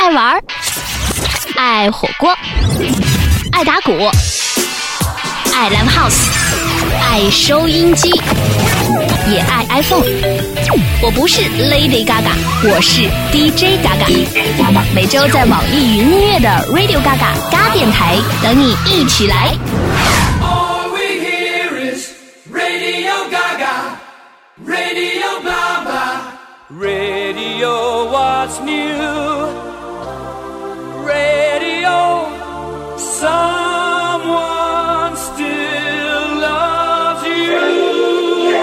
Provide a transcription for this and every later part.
爱玩，爱火锅，爱打鼓，爱 Live House， 爱收音机，也爱 iPhone。我不是 Lady Gaga， 我是 DJ Gaga。每周在网易云音乐的 Radio Gaga 嘎电台等你一起来。 All we hear is Radio Gaga, Radio blah blah, Radio what's new, Radio someone still loves you。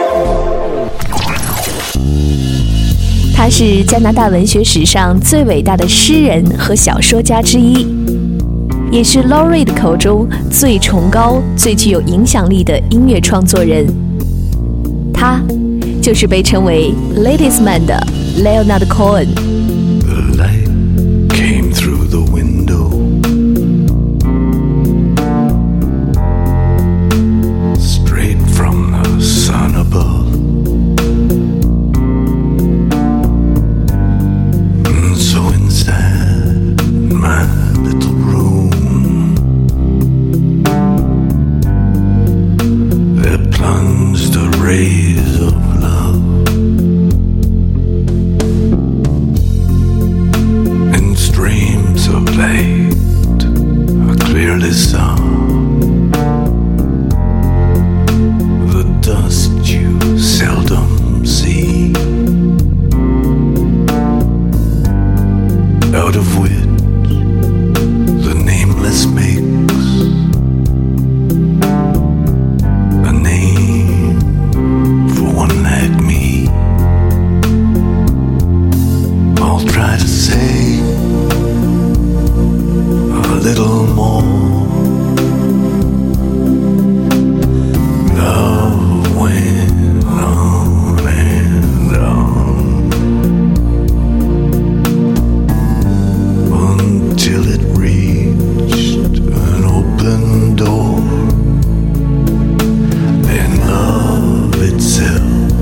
他是加拿大文学史上最伟大的诗人和小说家之一，也是 Laureate 口中最崇高、最具有影响力的音乐创作人。他就是被称为 Ladies Man 的 Leonard Cohen。The light came through the window, straight from the sun above. And so inside my little room, there plunged the rays of love, and streams of light I clearly saw. The dust you seldom see, out of which the nameless makes a name for one like me. I'll try to say a little more. Love went on and on until it reached an open door. Then love itself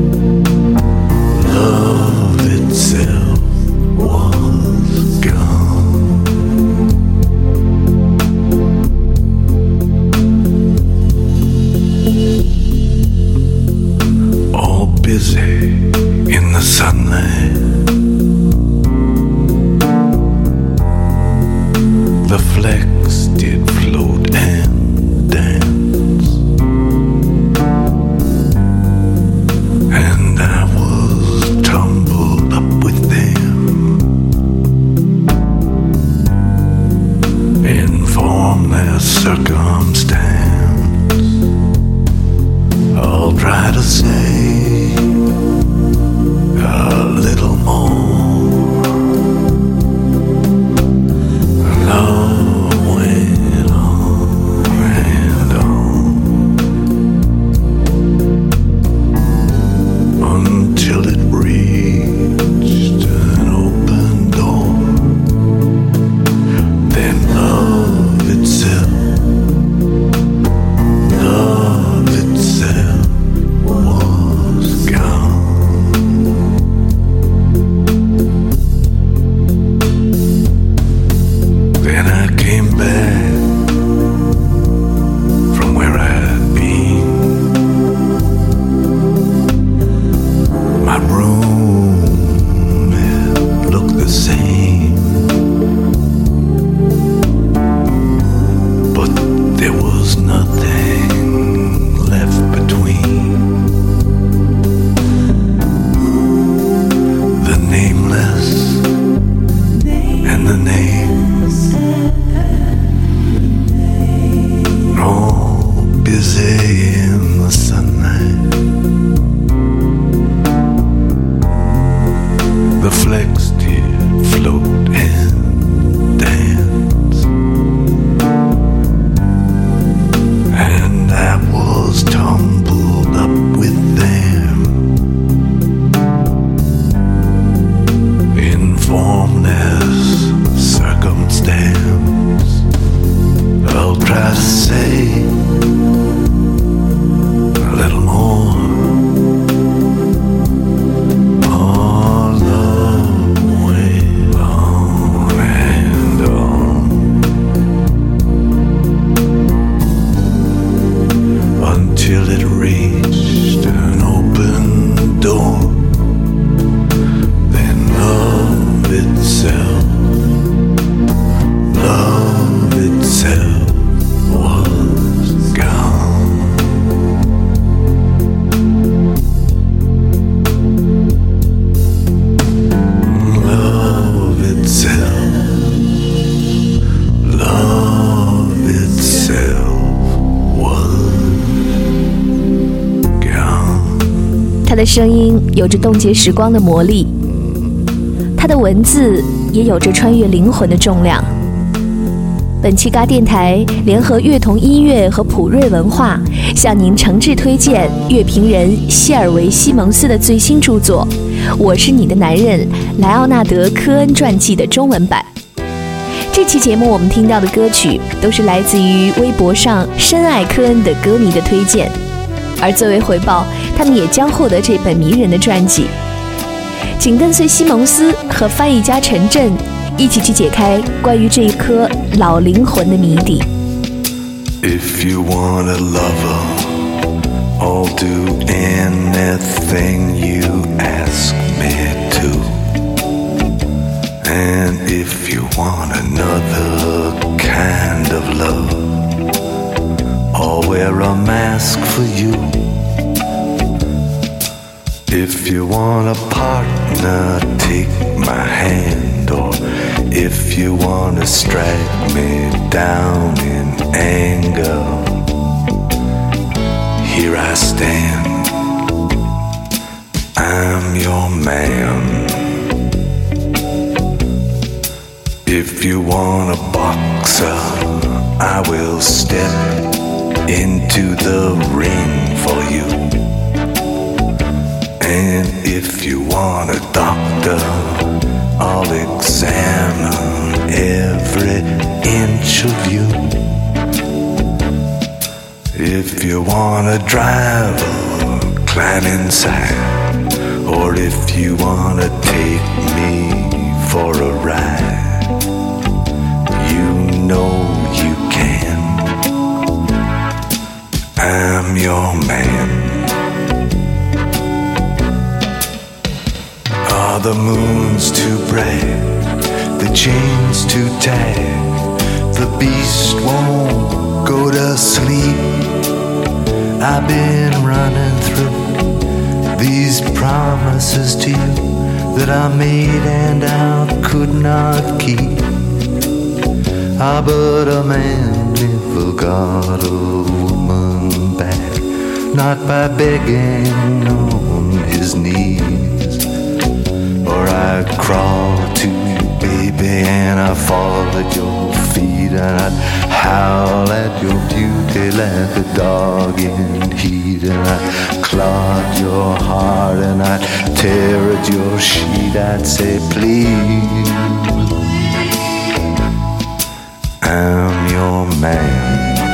was gone. All busy in the sunlight, the flecks did float and dance, and I was tumbled up with them, in formless circumstance. I'll try to say a little more. Love went on and on until it reached an open door. Then love itself 的声音有着冻结时光的魔力，他的文字也有着穿越灵魂的重量。本期嘎电台联合乐童音乐和普瑞文化向您诚挚推荐乐评人谢尔维·西蒙斯的最新著作《我是你的男人》莱奥纳德·科恩传记的中文版。这期节目我们听到的歌曲都是来自于微博上深爱科恩的歌迷的推荐，而作为回报，他们也将获得这本迷人的传记。请跟随西蒙斯和翻译家陈震一起去解开关于这一颗老灵魂的谜底。 If you want a lover, I'll do anything you ask me to. And if you want another kind of love, I'll wear a mask for you. If you want a partner, take my hand. Or if you want to strike me down in anger, here I stand, I'm your man. If you want a boxer, I will step into the ring for you. And if you want a doctor, I'll examine every inch of you. If you want a driver, climb inside. Or if you want to take me for a ride, you know you can. I'm your man. Are the moons too bright? The chains too tight? The beast won't go to sleep. I've been running through these promises to you that I made and I could not keep. Ah, but a man never got a woman back, not by begging on his knees. Or I'd crawl to you, baby, and I'd fall at your feet, and I'd howl at your beauty like a dog in heat, and I'd clog your heart, and I'd tear at your sheet. I'd say, please, I'm your man.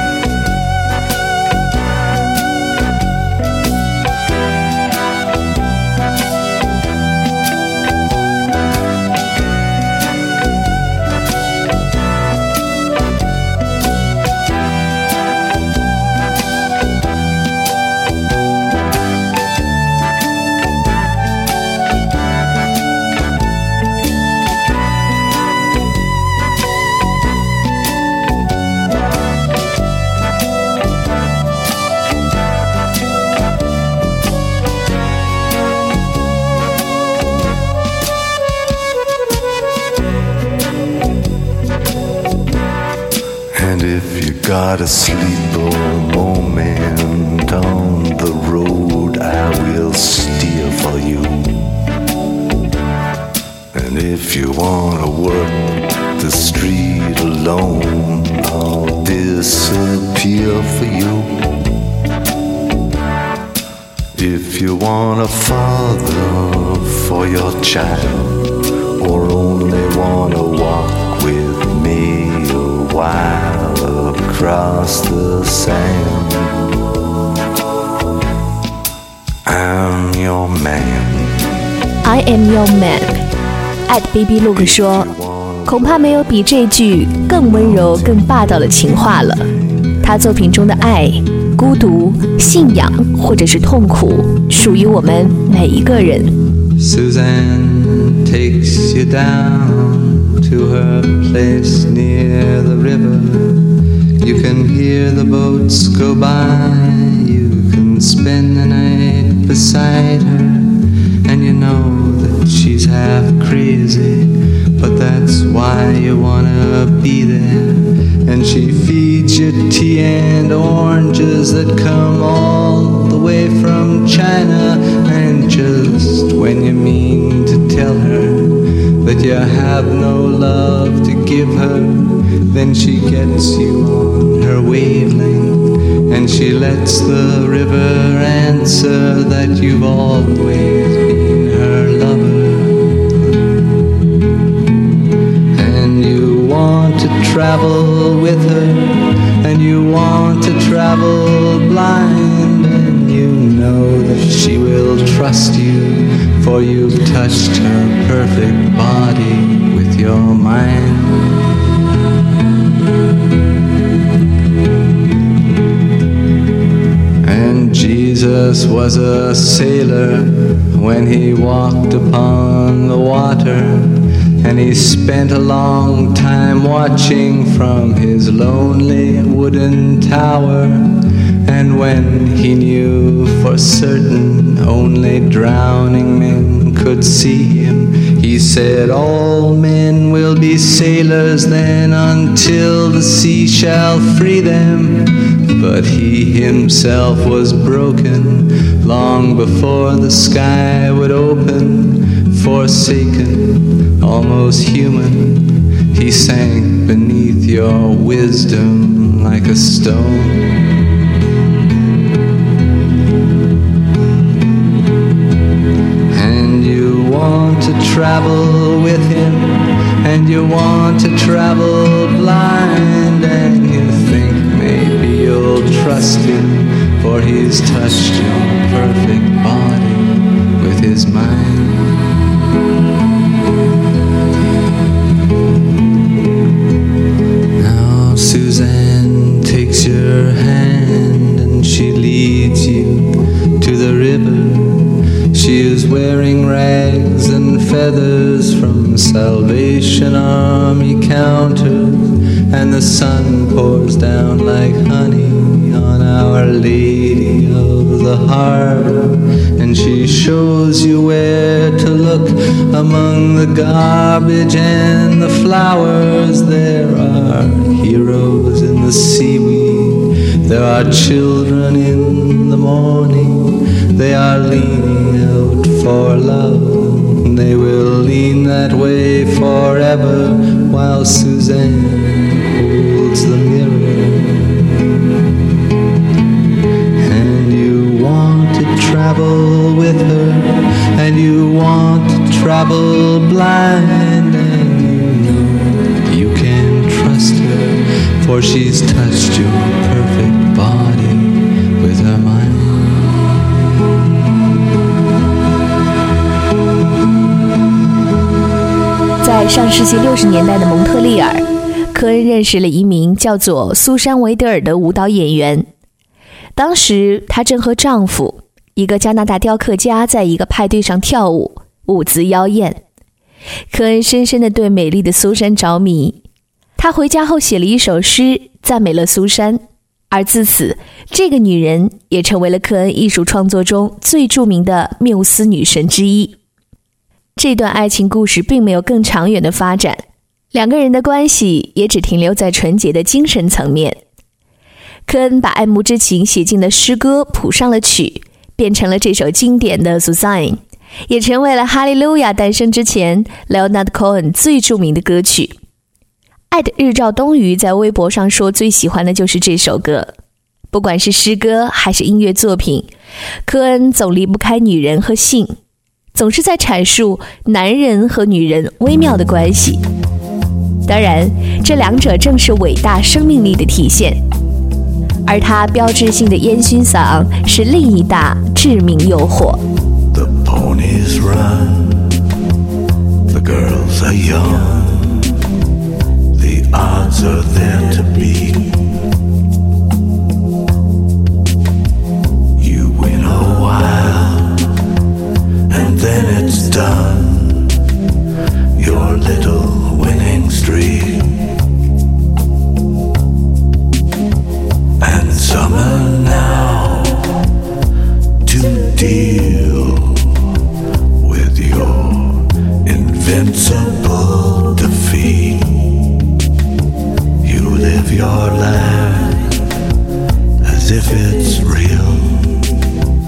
Got a sleeper moment on the road, I will steer for you. And if you wanna work the street alone, I'll disappear for you. If you want a father for your child, or only wanna walk with me a while across the sand, I'm your man. I am your man. @baby look 说，恐怕没有比这句更温柔、更霸道的情话了。他作品中的爱、孤独、信仰或者是痛苦，属于我们每一个人。 Suzanne takes you down to her place near the river. You can hear the boats go by. You can spend the night beside her, and you know that she's half crazy, but that's why you wanna be there. And she feeds you tea and oranges that come all the way from China. And just when you mean to tell her that you have no love to give her, then she gets you on her wavelength, and she lets the river answer that you've always been her lover. And you want to travel with her, and you want to travel blind, and you know that she will trust you, for you've touched her perfect body with your mind. And Jesus was a sailor when he walked upon the water, and he spent a long time watching from his lonely wooden tower. And when he knew for certain only drowning men could see him, he said, all men will be sailors then until the sea shall free them. But he himself was broken long before the sky would open. Forsaken, almost human, he sank beneath your wisdom like a stone. Travel with him, and you want to travel blind, and you think maybe you'll trust him, for he's touched your perfect body with his mind. Now Suzanne takes your hand and she leads you to the river. She is wearing rags and feathers from Salvation Army counters, and the sun pours down like honey on Our Lady of the Harbor, and she shows you where to look among the garbage and the flowers. There are heroes in the seaweed, there are children in the morning, they are leaning out for love, they will lean that way forever while Suzanne holds the mirror. And you want to travel with her, and you want to travel blind, and you know you can trust her, for she's touched your perfect body with her mind. 在上世纪60年代的蒙特利尔，科恩认识了一名叫做苏珊·维德尔的舞蹈演员。当时她正和丈夫，一个加拿大雕刻家，在一个派对上跳舞，舞姿妖艳。科恩深深地对美丽的苏珊着迷，他回家后写了一首诗，赞美了苏珊，而自此，这个女人也成为了科恩艺术创作中最著名的缪斯女神之一。这段爱情故事并没有更长远的发展，两个人的关系也只停留在纯洁的精神层面。科恩把爱慕之情写进了诗歌，谱上了曲，变成了这首经典的 Suzanne， 也成为了哈利路亚诞生之前 Leonard Cohen 最著名的歌曲。爱的日照东鱼在微博上说最喜欢的就是这首歌。不管是诗歌还是音乐作品，科恩总离不开女人和性，总是在阐述男人和女人微妙的关系。当然，这两者正是伟大生命力的体现。而他标志性的烟熏嗓是另一大致命诱惑。 The ponies run, the girls are young, the odds are there to beat. You win a while, and then it's done, your little winning streak. And summer now to deal with your invincible defeat. You live your life as if it's real,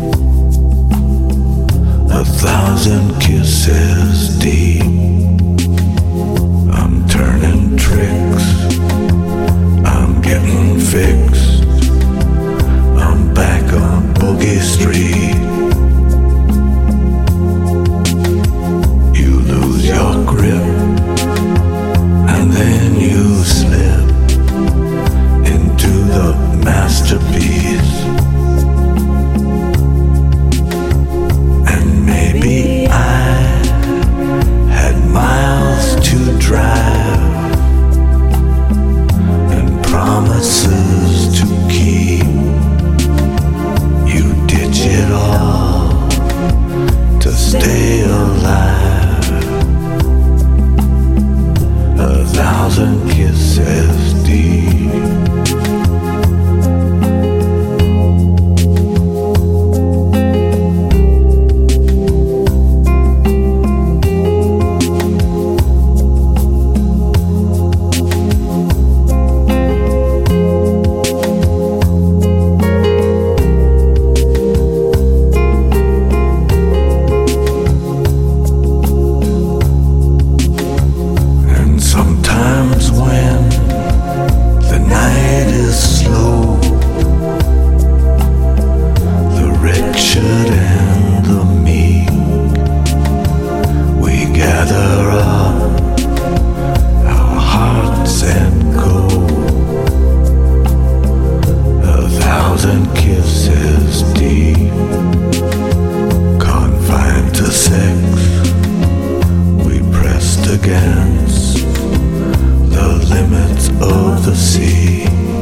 against the limits of the sea.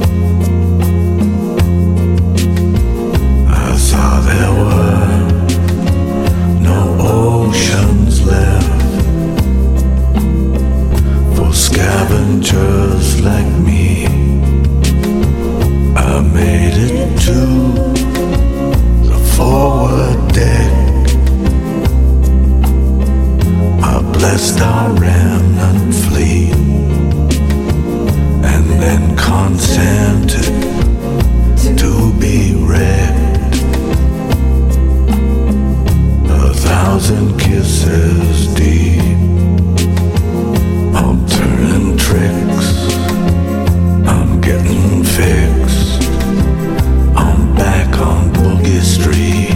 I saw there were no oceans left for scavengers like me. I made it to the forward deck. I blessed our remnant fleet and then consented to be wrecked. 1,000 kisses deep. I'm turning tricks. I'm getting fixed. I'm back on Boogie Street.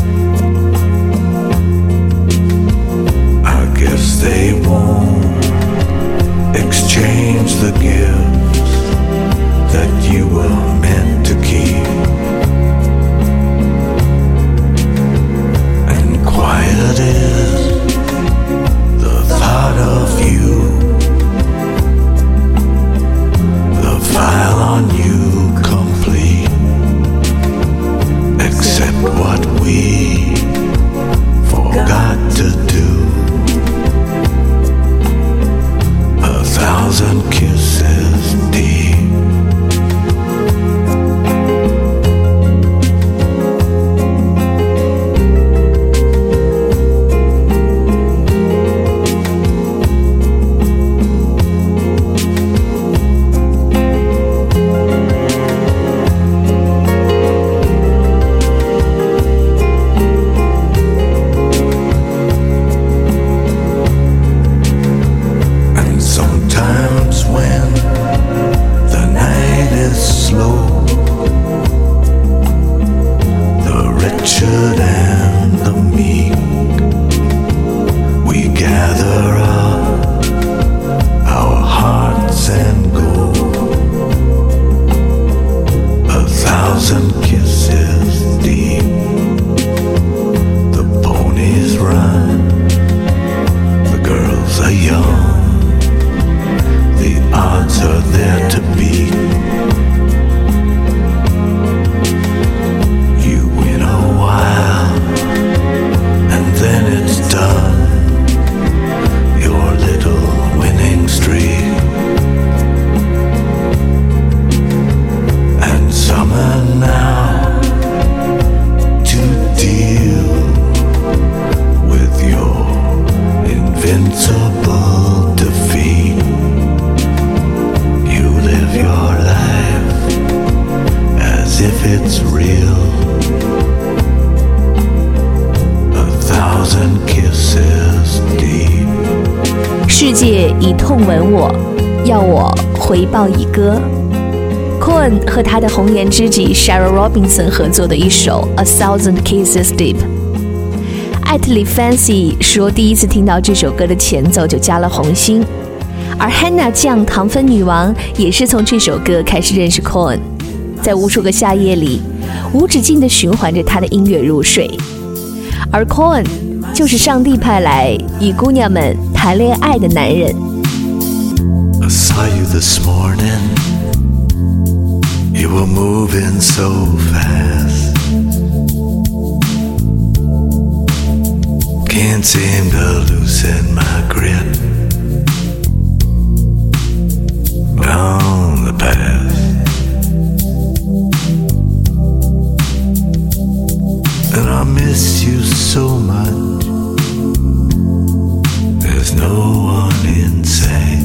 I guess they won't exchange the gifts that you were meant to keep. And quiet is the thought of you. The file on you complete, except what we forgot to do. 1,000 kisses deep. 世界以痛吻我，要我回报以歌。Cohen 和他的红颜知己 Sarah Robinson 合作的一首 A Thousand Kisses Deep。艾特里 Fancy 说，第一次听到这首歌的前奏就加了红心，而 Hannah 酱糖分女王也是从这首歌开始认识 Cohen， 在无数个夏夜里，无止境地循环着他的音乐入睡。而 Cohen 就是上帝派来与姑娘们谈恋爱的男人。 I saw you this morning. You were moving so fast. Can't seem to loosen my grip on the past. And I miss you so much. There's no one in sight.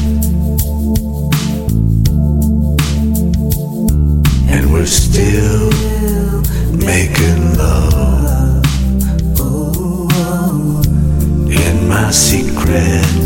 And we're still making love in my secret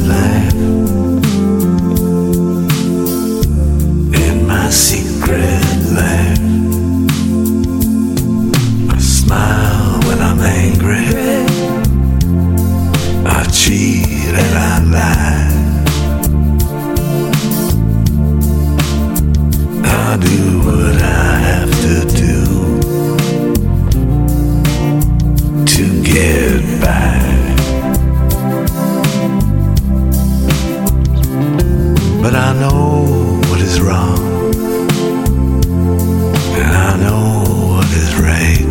but I know what is wrong, and I know what is right.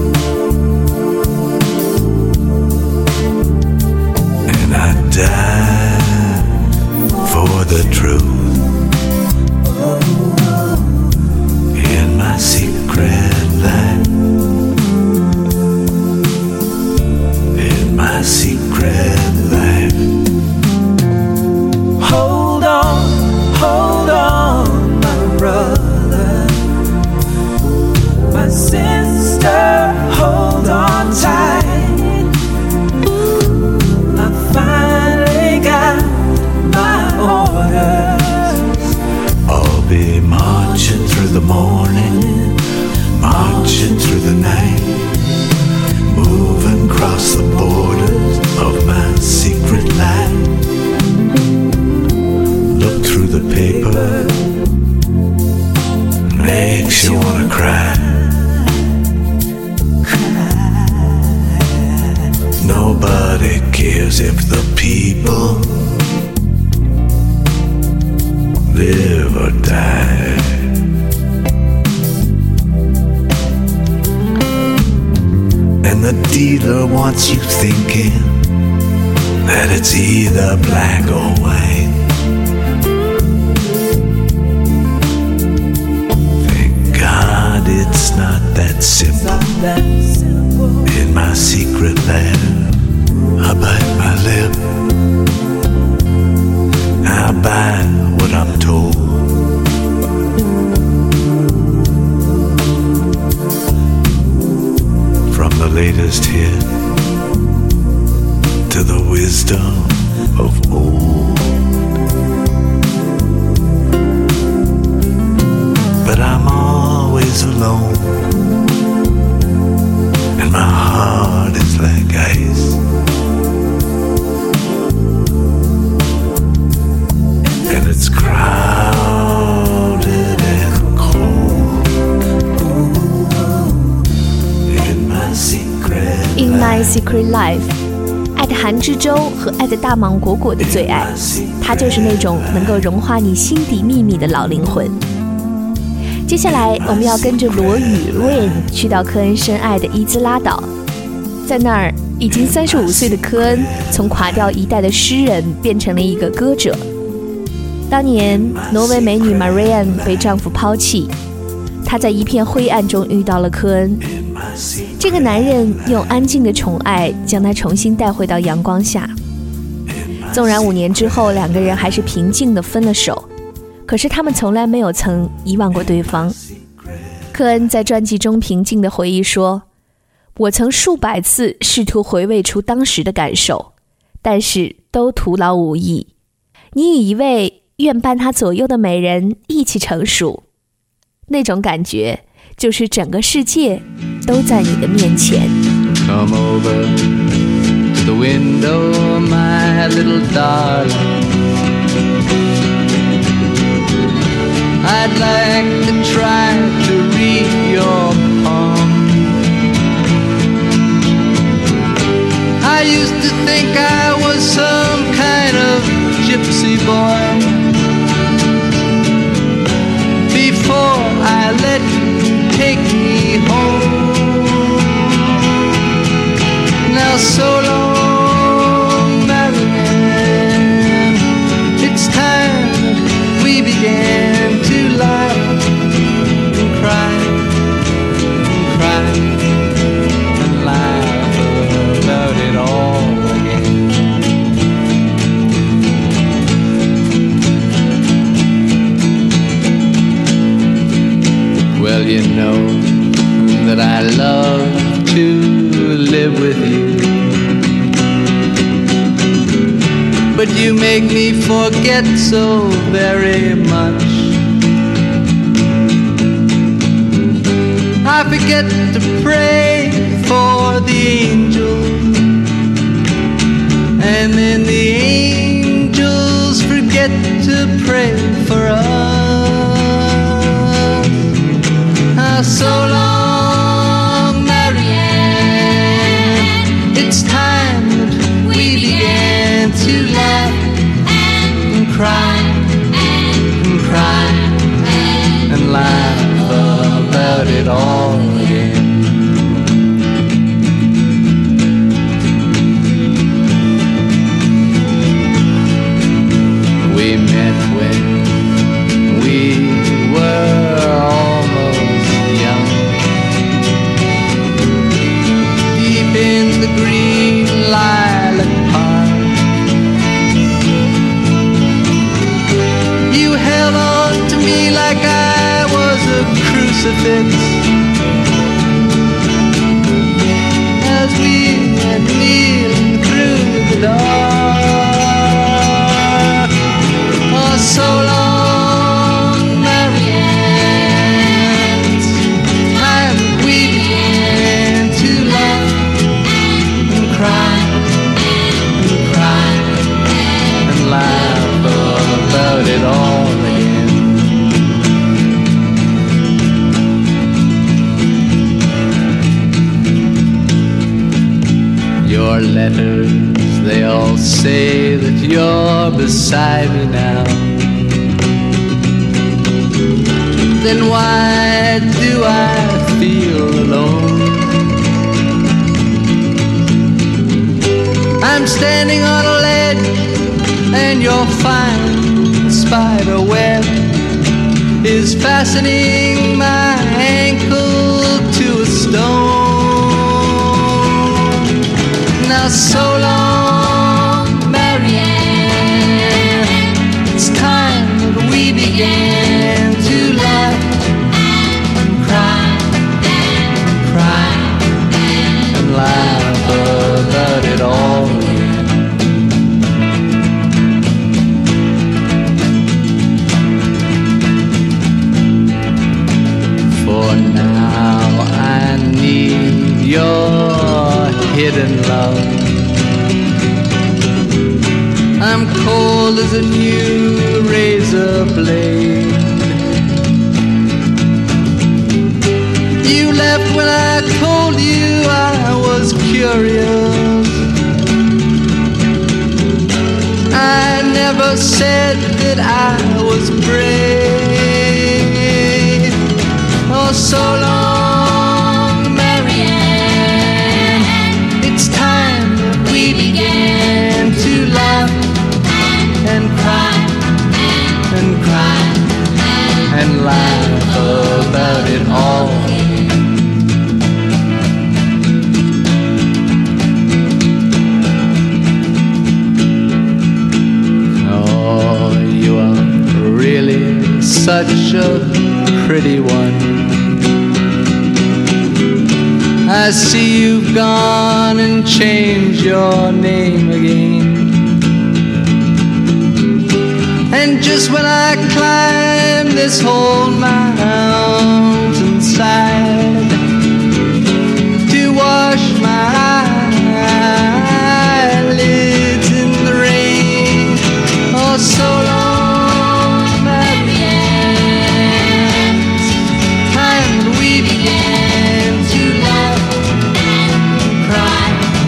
And I die for the truth in my secret life. In my secret life. Hold on, my brother, my sister, hold on tight. I finally got my orders. I'll be marching through the morning, marching through the night, moving across the borders of my secret life. Look through the paper, makes you wanna cry. Nobody cares if the people live or die. And the dealer wants you thinking that it's either black or white. Thank God it's not that simple. In my secret lab, I bite my lip. I buy what I'm told. From the latest hit to the wisdom of old. But I'm always alone, and my heart is like ice. And it's crowded and cold. In my secret In My Secret Life， 爱的韩之洲和爱的大芒果果的最爱，它就是那种能够融化你心底秘密的老灵魂。接下来我们要跟着罗宇 Rain 去到科恩深爱的伊兹拉岛，在那儿已经35岁的科恩从垮掉一代的诗人变成了一个歌者。当年挪威美女 Marianne 被丈夫抛弃，她在一片灰暗中遇到了科恩。这个男人用安静的宠爱将她重新带回到阳光下。纵然5年之后两个人还是平静地分了手，可是他们从来没有曾遗忘过对方。科恩在专辑中平静地回忆说，我曾数百次试图回味出当时的感受，但是都徒劳无益。你与一位愿伴他左右的美人一起成熟，那种感觉就是整个世界都在你的面前。 Come over to the window, my little darling. I'd like to try to read your palm. I used to think I was some kind of gypsy boy before I let you take me home. Now so long, Marianne, it's time that we began to laugh and cry and cry and laugh about it all again. Well, you know that I love to live with you, but you make me forget so very much. I forget to pray for the angels, and then the angels forget to pray for us. So long, Marianne, it's time that we began to laugh and cry it all again. We met when we were almost young, deep in the green lilac park. You held on to me like I was a crucifix as we went kneeling through the dark. Oh, so long, Marianne, time we began to laugh and cry and cry and laugh about it all again. Your letters, they all say that you're beside me now. Then why do I feel alone? I'm standing on a ledge and your fine spider web is fastening my ankle to a stone. Now so long, Marianne, it's time that we began to laugh and cry and laugh about it all again. For now I need your hidden love. I'm cold as a new razor blade. You left when I told you I was curious. I never said that I was brave. Oh, so long, Marianne, it's time that we began to laugh and cry and cry and laugh about it all. Oh, you are really such a pretty one. I see you've gone and changed your name again. And just when I climb this whole mountainside to wash my eyelids in the rain, oh, so long, Marianne, time we began to laugh and cry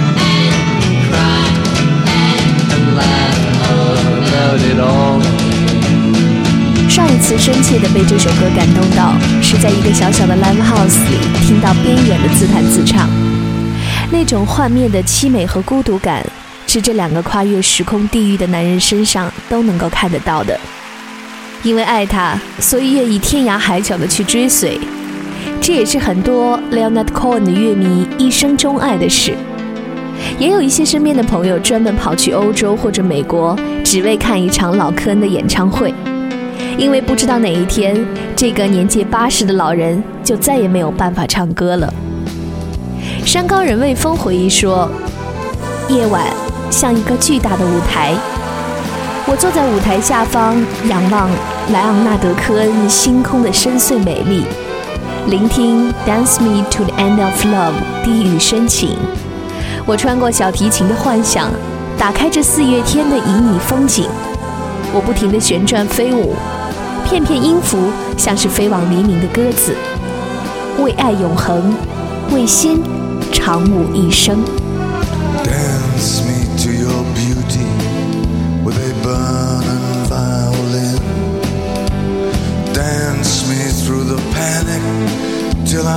and laugh about it all. 上一次深切地被这首歌感动到，是在一个小小的 live house 里听到边缘的自弹自唱，那种幻灭的凄美和孤独感，是这两个跨越时空地域的男人身上都能够看得到的。因为爱他，所以愿意天涯海角的去追随，这也是很多 Leonard Cohen 的乐迷一生钟爱的事。也有一些身边的朋友专门跑去欧洲或者美国，只为看一场老科恩的演唱会。因为不知道哪一天，这个年届80的老人就再也没有办法唱歌了。山高人魏峰回忆说，夜晚像一个巨大的舞台，我坐在舞台下方，仰望莱昂纳德·科恩星空的深邃美丽，聆听 Dance Me to the End of Love 低语深情。我穿过小提琴的幻想，打开这4月天的旖旎风景，我不停地旋转飞舞，片片音符像是飞往黎明的鸽子，为爱永恒，为心长舞一生。 Dance me to your beauty with a burning violin. Dance me through the panic till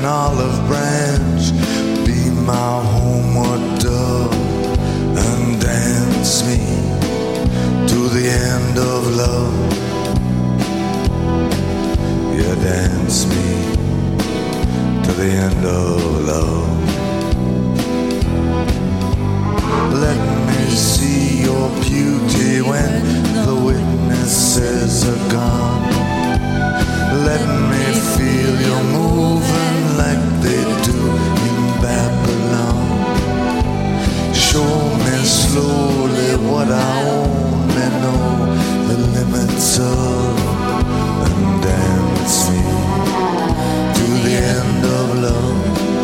olive branch, be my homeward dove, and dance me to the end of love. Yeah, dance me to the end of love. Let me see your beauty when the witnesses are gone. Let me feel you moving like they do in Babylon. Show me slowly what I only know the limits of, and dance me to the end of love.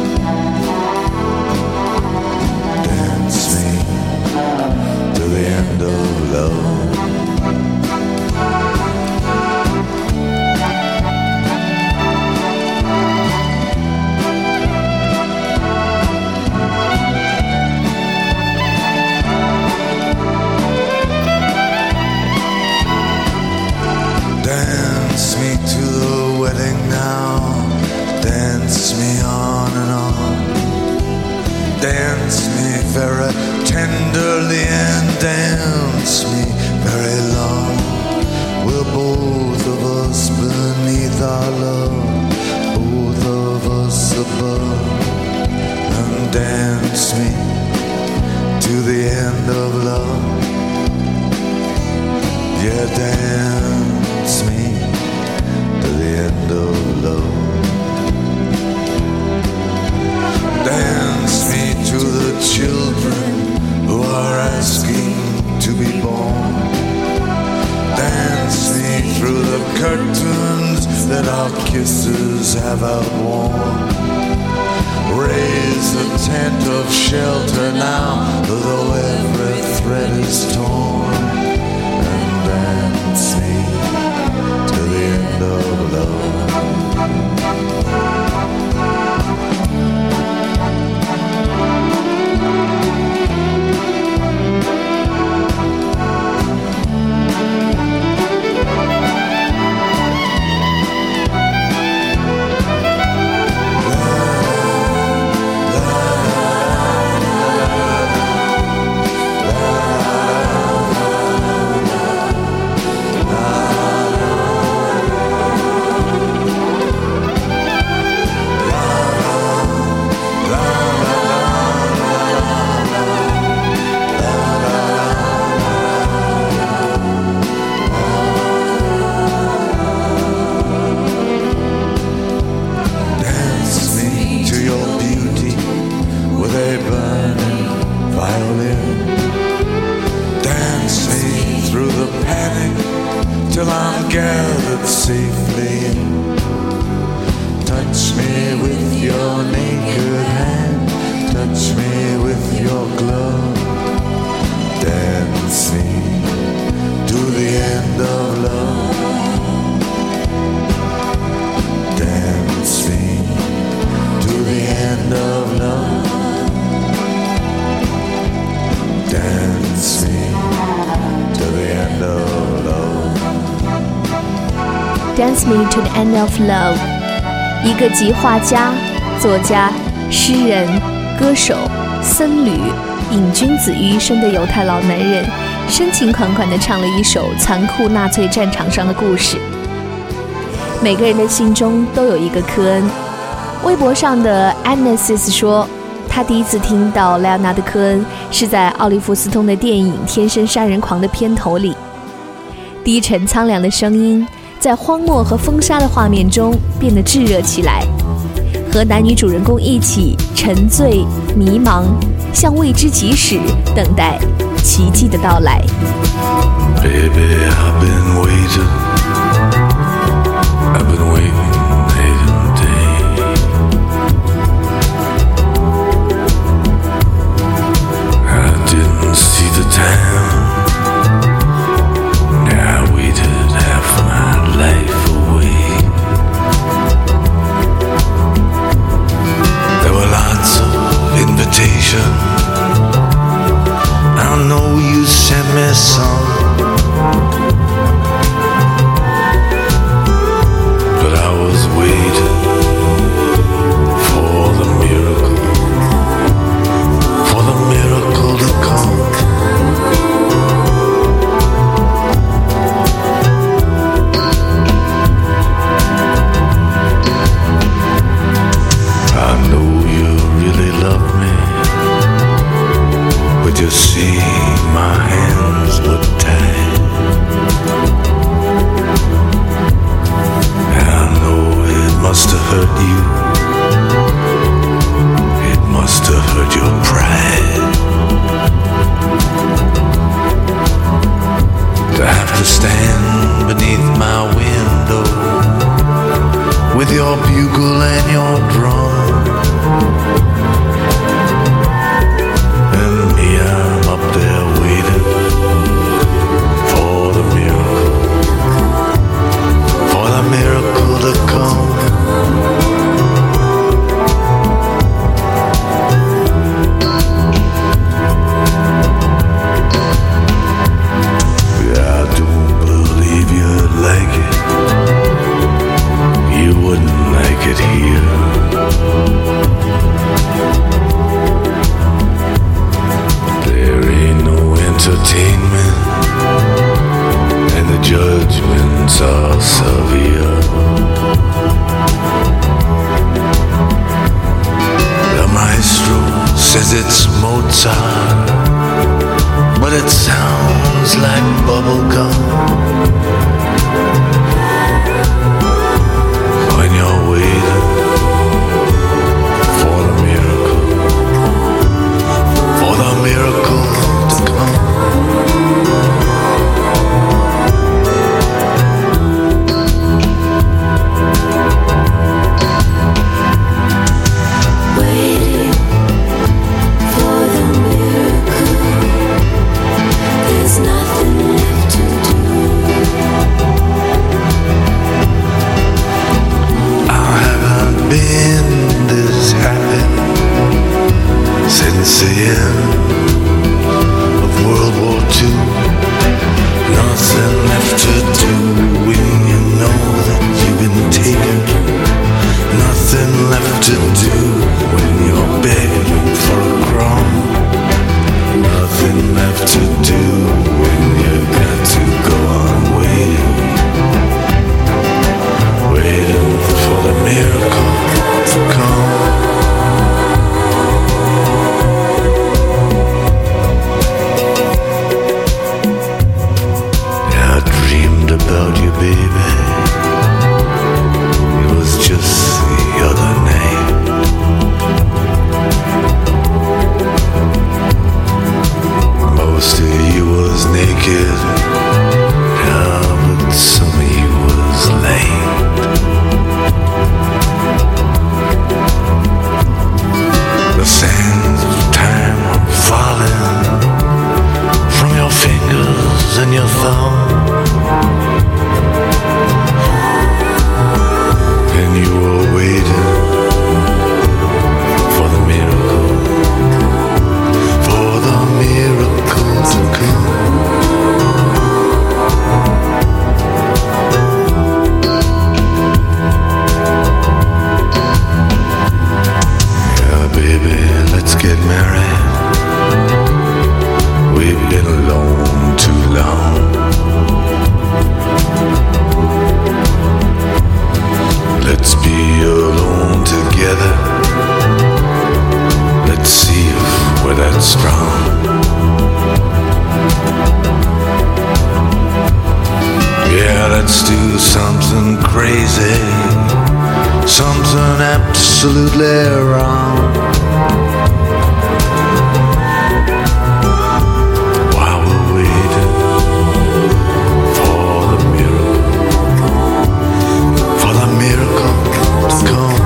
Dance me to the end of love. Dance me to the wedding now. Dance me on and on. Dance me very tenderly and dance me very long. We're both of us beneath our love, both of us above. And dance me to the end of love. Yeah, dance me to the end of love. Dance me to the children who are asking to be born. Dance me through the curtains that our kisses have outworn. Raise a tent of shelter now, though every thread is torn. And dance me to the end of love. Till I'm gathered safely in. Touch me with your naked hand, touch me with your glove. Dance me to the end of love. Dance me to the end of love. Dance me to the end of love.Dance Me to the End of Love， 一个集画家、作家、诗人、歌手、僧侣、瘾君子于一身的犹太老男人，深情款款地唱了一首残酷纳粹战场上的故事。每个人的心中都有一个科恩。微博上的 Annesis 说，他第一次听到莱昂纳德·科恩是在奥利弗斯通的电影《天生杀人狂》的片头里，低沉苍凉的声音在荒漠和风沙的画面中变得炙热起来，和男女主人公一起沉醉、迷茫，向未知即始等待奇迹的到来。Baby, I've been waiting night and day. I didn't see the time.I waited half my life away. There were lots of invitations. I know you sent me some, but I Can't you see my hands were tied? And I know it must have hurt you. It must have hurt your pride. To have to stand beneath my window with your bugle and your drum. And me, I'm up there waiting for the miracle to come. Yeah, I don't believe you'd like it. You wouldn't like it here. There ain't no entertainment, and the judgments are severe. The maestro says it's Mozart, but it sounds like bubblegum. When you're waiting for the miracle to come. Waiting for the miracle. There's nothing left to do. I haven't been this happy since the end of World War II. Nothing left to do when you know that you've been taken. Nothing left to do when you're begging for a crumb. Nothing left to do when you got to go on waiting. Waiting for the miracle to come. Yeah, I dreamed about you, baby. It was just the other night. Most of you was naked, yeah, but some of you was lame. The sands of time are falling from your fingers and your thumb, and you were waiting for the miracle to come. Yeah, baby, let's get married. We've been alone too long. Let's be alone together. Let's see if we're that strong. Yeah, let's do something crazy, something absolutely wrong. While we're waiting for the miracle to come.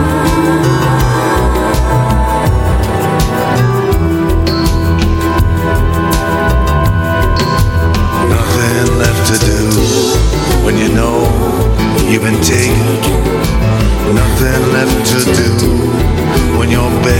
Nothing left to do when you know you've been taken. Nothing left to do when you're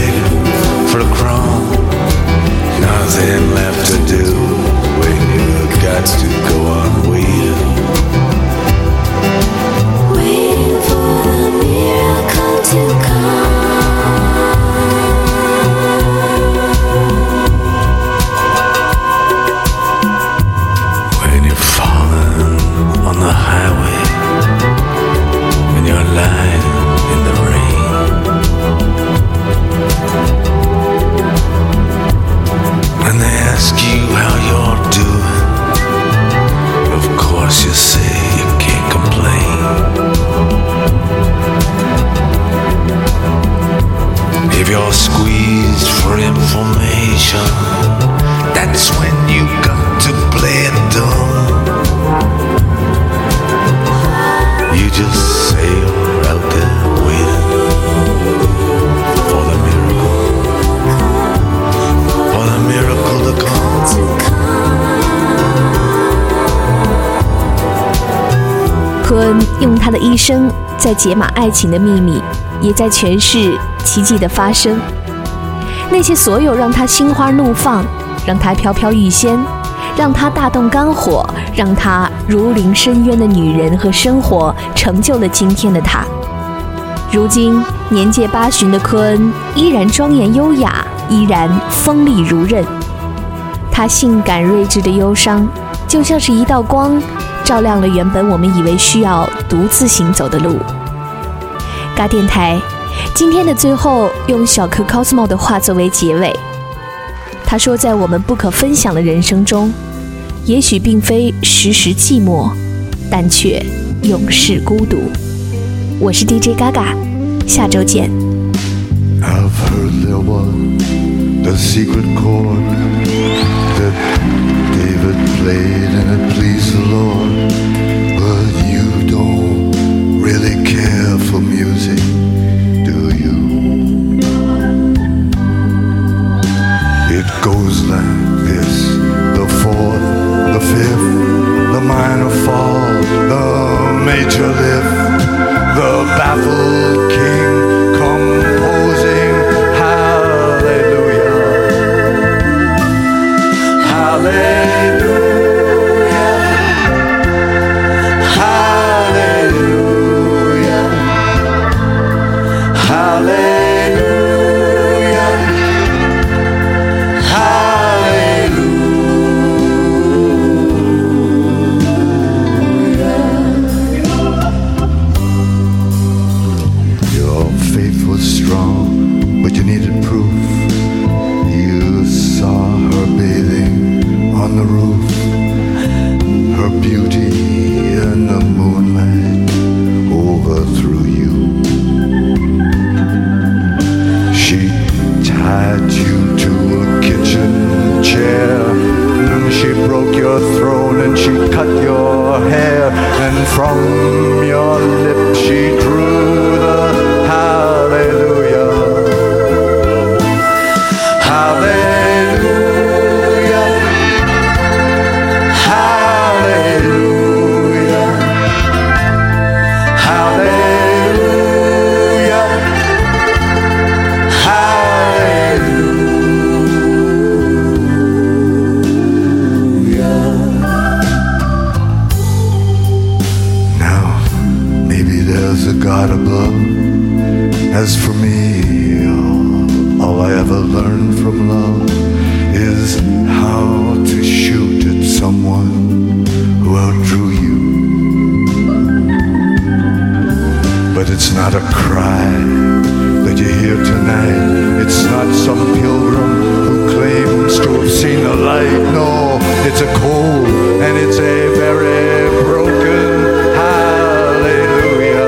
用他的一生在解码爱情的秘密，也在诠释奇迹的发生。那些所有让他心花怒放，让他飘飘欲仙，让他大动肝火，让他如临深渊的女人和生活，成就了今天的他。如今年届80的科恩依然庄严优雅，依然锋利如刃。他性感睿智的忧伤，就像是一道光，照亮了原本我们以为需要独自行走的路。嘎电台今天的最后，用小柯 Cosmo 的话作为结尾。他说，在我们不可分享的人生中，也许并非时时寂寞，但却永世孤独。我是 DJ Gaga， 下周见。 I've heard there was a secret chord that David played and it pleased the Lord, but you don't really care for music, do you? It goes like this: the fourth, the fifth, the minor fall, the major lift, the baffled king composing hallelujah, hallelujah, hallelujah, hallelujah, Your faith was strong, but you needed proof. You saw her bathing on the roof, her beauty in the moonlight overthrew you. She tied you to a kitchen chair, and she broke your throne and she cut your hair, and from your lips she drew the hallelujah, hallelujah, hallelujah, hallelujah, hallelujah. Now, maybe there's a God above. As for me, all I ever learned from love is how to shoot at someone who outdrew you. But it's not a cry that you hear tonight. It's not some pilgrim who claims to have seen the light. No, it's a cold and it's a very broken hallelujah.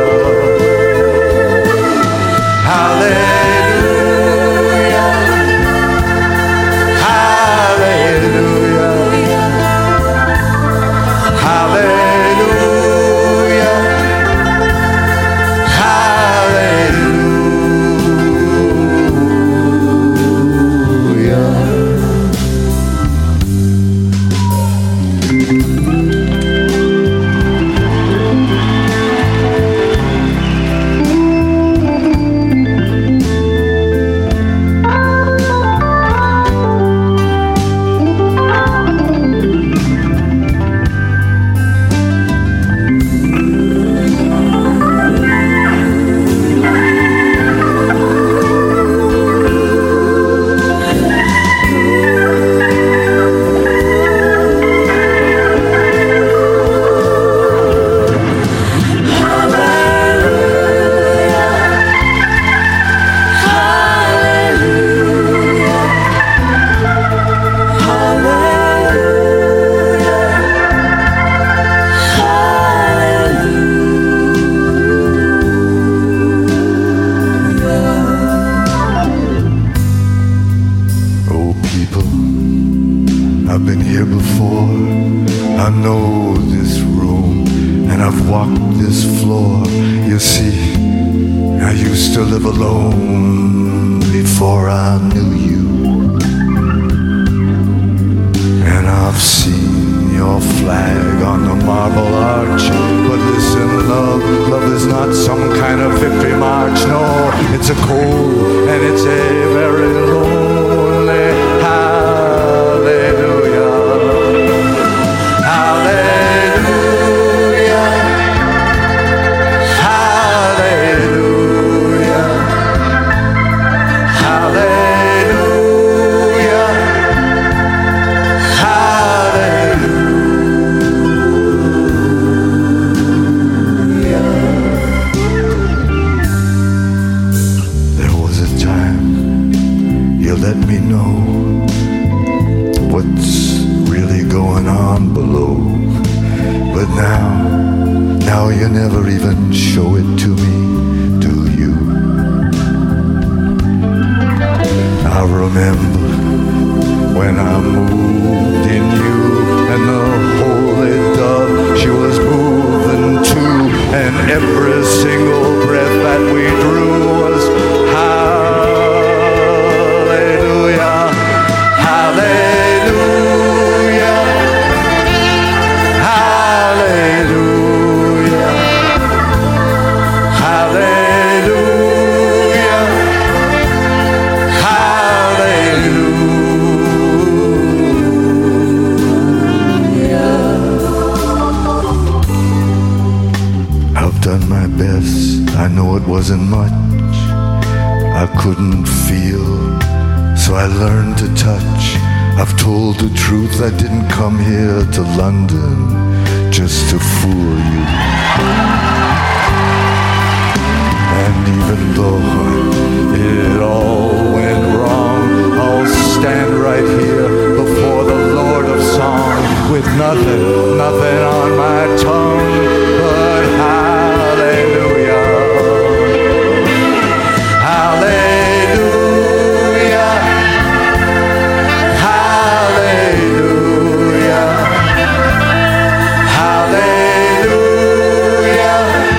Hallelujah, hallelujah, hallelujah, I've been here before. I know this room and I've walked this floor. You see, I used to live alone before I knew you. And I've seen your flag on the marble arch. But listen, love, It's a cold and it's a very lonely hallelujah. Hallelujah. Hallelujah. Hallelujah. Hallelujah. There was a time you let me know what's really going on below. But now you never even show it to me, do you? I remember when I moved in you, and the holy dove, she was moving too, and every single breath that we drew was hallelujah, hallelujah, hallelujah, hallelujah, hallelujah. I've done my best, I know it wasn't much. I couldn't feel, so I learned to touch. I've told the truth, I didn't come here to London just to fool you. And even though it all went wrong, I'll stand right here before the Lord of Song with nothing on my tongue but hallelujah. Hallelujah. Hallelujah. Hallelujah.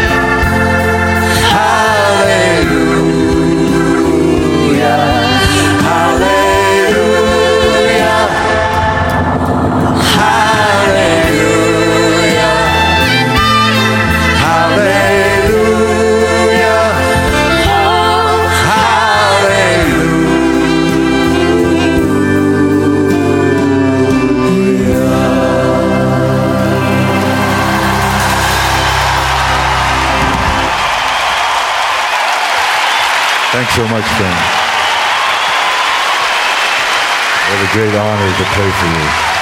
Hallelujah. Hallelujah. Thanks so much, friends. What a great honor to play for you.